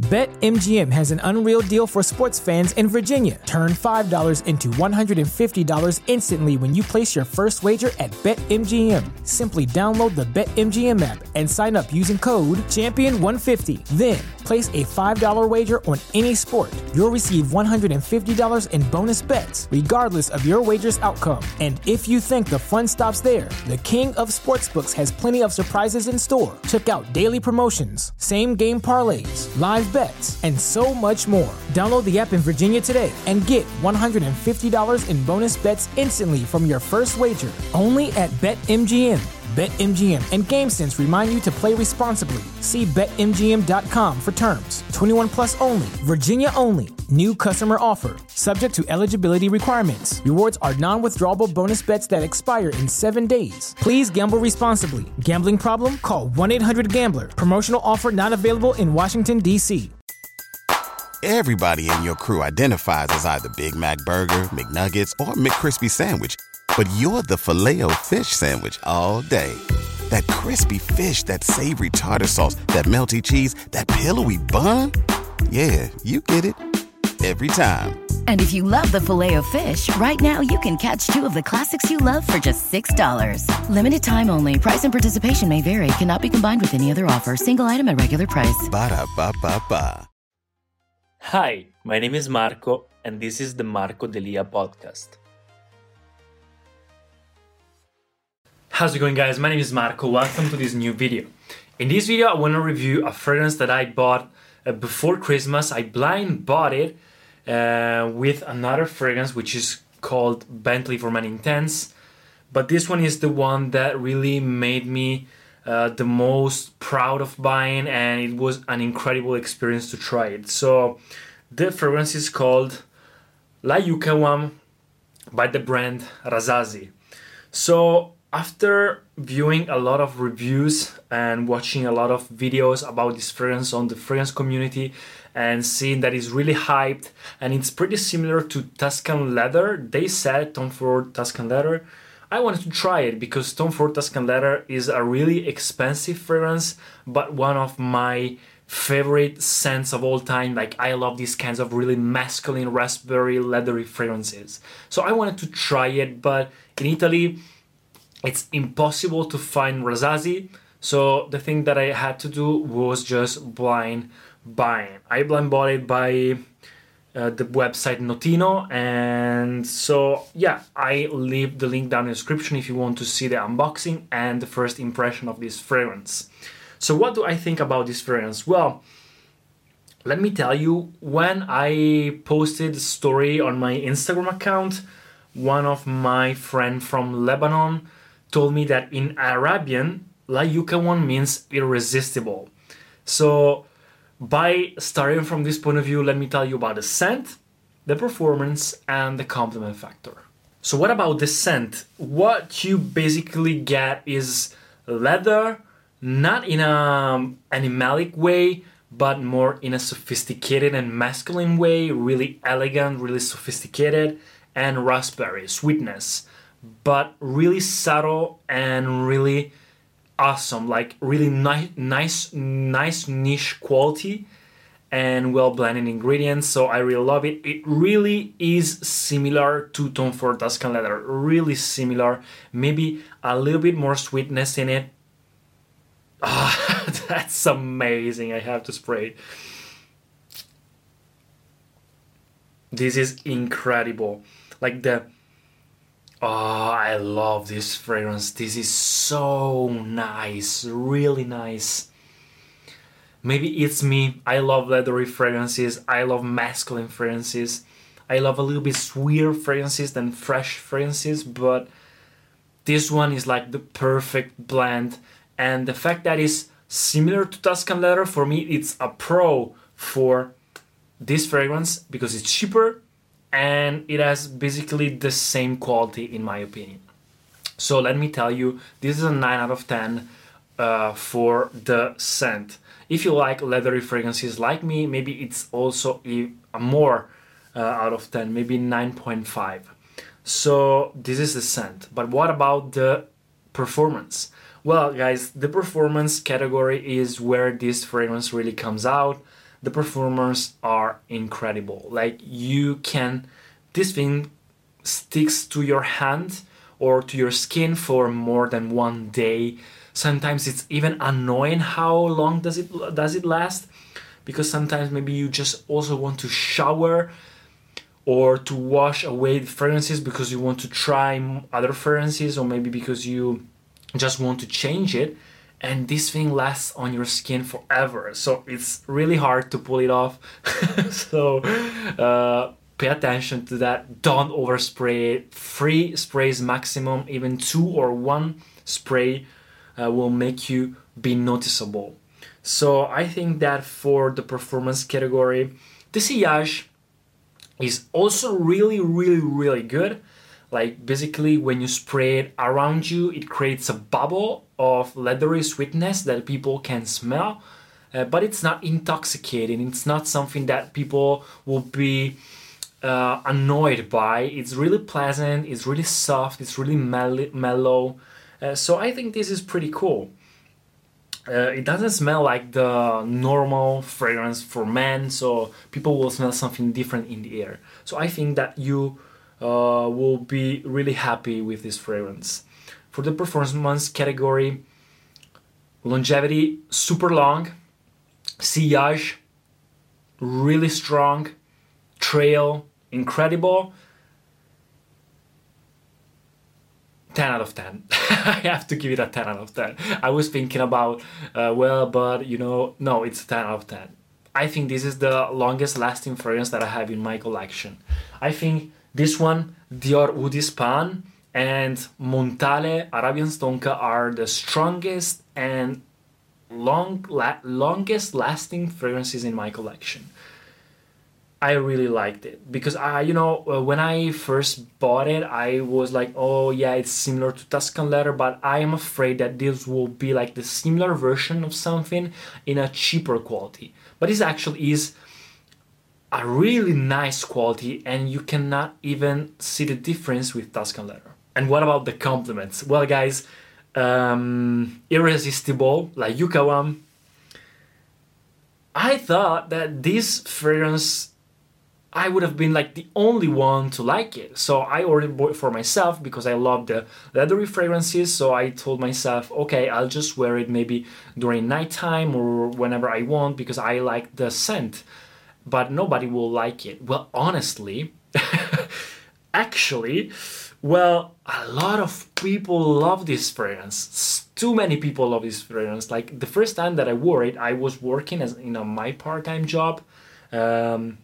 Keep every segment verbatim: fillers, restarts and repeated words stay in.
BetMGM has an unreal deal for sports fans in Virginia. Turn five dollars into one hundred fifty dollars instantly when you place your first wager at BetMGM. Simply download the BetMGM app and sign up using code champion one fifty. Then, place a five dollars wager on any sport. You'll receive one hundred fifty dollars in bonus bets, regardless of your wager's outcome. And if you think the fun stops there, the King of Sportsbooks has plenty of surprises in store. Check out daily promotions, same-game parlays, live bets, and so much more. Download the app in Virginia today and get one hundred fifty dollars in bonus bets instantly from your first wager. Only at BetMGM. BetMGM and GameSense remind you to play responsibly. See Bet M G M dot com for terms. twenty-one plus only. Virginia only. New customer offer. Subject to eligibility requirements. Rewards are non-withdrawable bonus bets that expire in seven days. Please gamble responsibly. Gambling problem? Call one eight hundred gambler. Promotional offer not available in Washington, D C Everybody in your crew identifies as either Big Mac Burger, McNuggets, or McCrispy Sandwich. But you're the Filet-O-Fish Sandwich all day. That crispy fish, that savory tartar sauce, that melty cheese, that pillowy bun. Yeah, you get it. Every time. And if you love the Filet-O-Fish, right now you can catch two of the classics you love for just six dollars. Limited time only. Price and participation may vary. Cannot be combined with any other offer. Single item at regular price. Ba-da-ba-ba-ba. Hi, my name is Marco, and this is the Marco Delia podcast. How's it going, guys? My name is Marco. Welcome to this new video. In this video, I want to review a fragrance that I bought uh, before Christmas. I blind bought it uh, with another fragrance, which is called Bentley for Men Intense. But this one is the one that really made me uh, the most proud of buying, and it was an incredible experience to try it. So the fragrance is called La Yucawam by the brand Razazi. So after viewing a lot of reviews and watching a lot of videos about this fragrance on the fragrance community and seeing that it's really hyped and it's pretty similar to Tuscan Leather, they said Tom Ford Tuscan Leather, I wanted to try it because Tom Ford Tuscan Leather is a really expensive fragrance, but one of my favorite scents of all time. Like, I love these kinds of really masculine, raspberry, leathery fragrances. So I wanted to try it, but in Italy, it's impossible to find Razazi, so the thing that I had to do was just blind buying. I blind bought it by uh, the website Notino, and so yeah, I leave the link down in the description if you want to see the unboxing and the first impression of this fragrance. So what do I think about this fragrance? Well, let me tell you, when I posted the story on my Instagram account, one of my friends from Lebanon told me that in Arabian, La Yucawam means irresistible. So by starting from this point of view, let me tell you about the scent, the performance, and the complement factor. So what about the scent? What you basically get is leather, not in an animalic way, but more in a sophisticated and masculine way, really elegant, really sophisticated, and raspberry, sweetness, but really subtle and really awesome, like really ni- nice, nice niche quality and well blended ingredients. So I really love it. It really is similar to Tom Ford Tuscan Leather, really similar, maybe a little bit more sweetness in it. Ah, that's amazing. I have to spray it. This is incredible. Like the Oh, I love this fragrance. This is so nice, really nice. Maybe it's me. I love leathery fragrances. I love masculine fragrances. I love a little bit sweeter fragrances than fresh fragrances, but this one is like the perfect blend. And the fact that it's similar to Tuscan Leather, for me, it's a pro for this fragrance because it's cheaper and it has basically the same quality in my opinion. So let me tell you, this is a nine out of ten uh, for the scent. If you like leathery fragrances like me, maybe it's also a, a more uh, out of ten, maybe nine point five. So this is the scent. But what about the performance? Well, guys, the performance category is where this fragrance really comes out. the performance are incredible. Like you can, this thing sticks to your hand or to your skin for more than one day. Sometimes it's even annoying how long does it does it last, because sometimes maybe you just also want to shower or to wash away the fragrances because you want to try other fragrances, or maybe because you just want to change it, and this thing lasts on your skin forever. So it's really hard to pull it off. So uh, pay attention to that. Don't overspray it. Three sprays maximum, even two or one spray uh, will make you be noticeable. So I think that for the performance category, the Sillage is also really, really, really good. Like basically when you spray it around you, it creates a bubble of leathery sweetness that people can smell, uh, but it's not intoxicating. It's not something that people will be uh, annoyed by. It's really pleasant, it's really soft, it's really mel- mellow. Uh, so I think this is pretty cool. Uh, it doesn't smell like the normal fragrance for men, so people will smell something different in the air. So I think that you uh, will be really happy with this fragrance. For the performance category, longevity, super long, Sillage, really strong, trail, incredible, ten out of ten. I have to give it a ten out of ten. I was thinking about, uh, well, but you know, no, it's a ten out of ten. I think this is the longest lasting fragrance that I have in my collection. I think this one, Dior Oud d'Espagne and Montale Arabian Stonka are the strongest and long, la- longest lasting fragrances in my collection. I really liked it because I, you know, uh, when I first bought it, I was like, oh yeah, it's similar to Tuscan Leather, but I am afraid that this will be like the similar version of something in a cheaper quality. But this actually is a really nice quality, and you cannot even see the difference with Tuscan Leather. And what about the compliments? Well, guys, um, Irresistible, La Yucca one. I thought that this fragrance, I would have been like the only one to like it. So I ordered it for myself because I love the leathery fragrances. So I told myself, okay, I'll just wear it maybe during nighttime or whenever I want because I like the scent. But nobody will like it. Well, honestly, actually, well, a lot of people love this fragrance. Too many people love this fragrance. Like the first time that I wore it, I was working as in a, my part-time job. Um,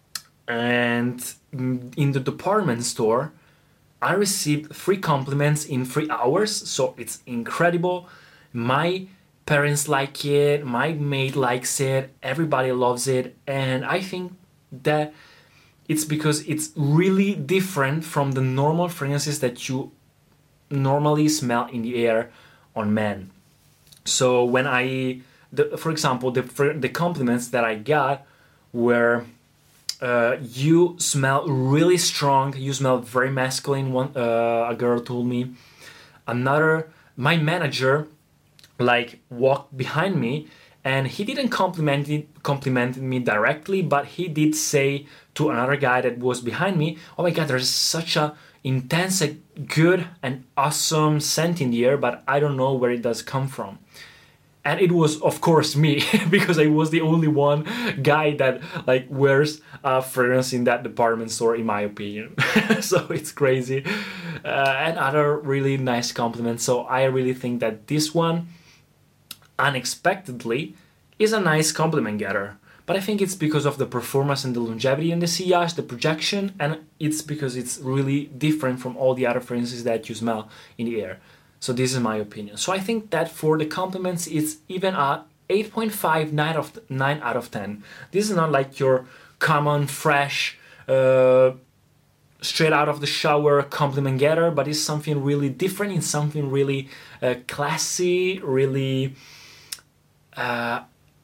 and in the department store, I received three compliments in three hours. So it's incredible. My parents like it, my maid likes it, everybody loves it, and I think that it's because it's really different from the normal fragrances that you normally smell in the air on men. So when I, the, for example, the the compliments that I got were, uh, you smell really strong, you smell very masculine. One uh, a girl told me. Another, my manager, like walked behind me and he didn't compliment it, complimented me directly, but he did say to another guy that was behind me, oh my god, there's such a intense, a good and awesome scent in the air, but I don't know where it does come from. And it was of course me because I was the only one guy that like wears a fragrance in that department store, in my opinion. So it's crazy. Uh, and other really nice compliments. So I really think that this one, unexpectedly, is a nice compliment getter. But I think it's because of the performance and the longevity and the sillage, the projection, and it's because it's really different from all the other fragrances that you smell in the air. So this is my opinion. So I think that for the compliments, it's even a eight point five, nine out of ten. This is not like your common, fresh, uh, straight out of the shower compliment getter, but it's something really different. It's something really uh, classy, really uh,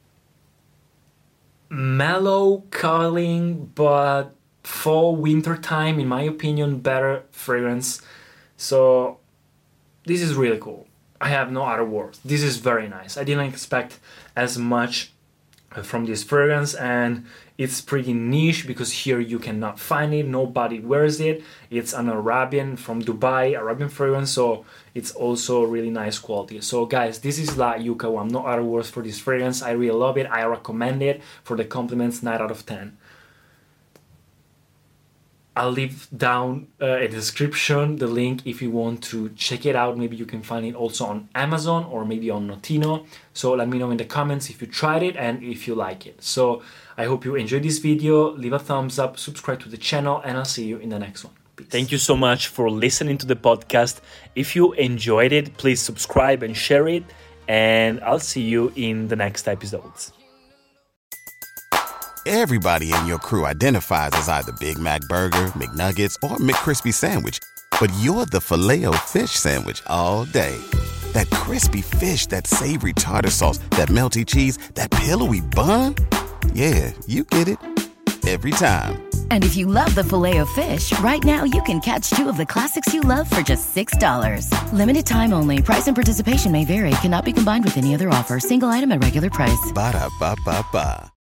mellow, calling, but fall, winter time, in my opinion, better fragrance. So this is really cool. I have no other words. This is very nice. I didn't expect as much from this fragrance, and it's pretty niche because here you cannot find it, nobody wears it. It's an Arabian from Dubai, Arabian fragrance, so it's also really nice quality. So guys, this is La Yucca One. No other words for this fragrance. I really love it. I recommend it. For the compliments, nine out of ten. I'll leave down uh, a description, the link if you want to check it out. Maybe you can find it also on Amazon or maybe on Notino. So let me know in the comments if you tried it and if you like it. So I hope you enjoyed this video. Leave a thumbs up, subscribe to the channel, and I'll see you in the next one. Peace. Thank you so much for listening to the podcast. If you enjoyed it, please subscribe and share it. And I'll see you in the next episodes. Everybody in your crew identifies as either Big Mac Burger, McNuggets, or McCrispy Sandwich. But you're the Filet-O-Fish Sandwich all day. That crispy fish, that savory tartar sauce, that melty cheese, that pillowy bun. Yeah, you get it. Every time. And if you love the Filet-O-Fish, right now you can catch two of the classics you love for just six dollars. Limited time only. Price and participation may vary. Cannot be combined with any other offer. Single item at regular price. Ba-da-ba-ba-ba.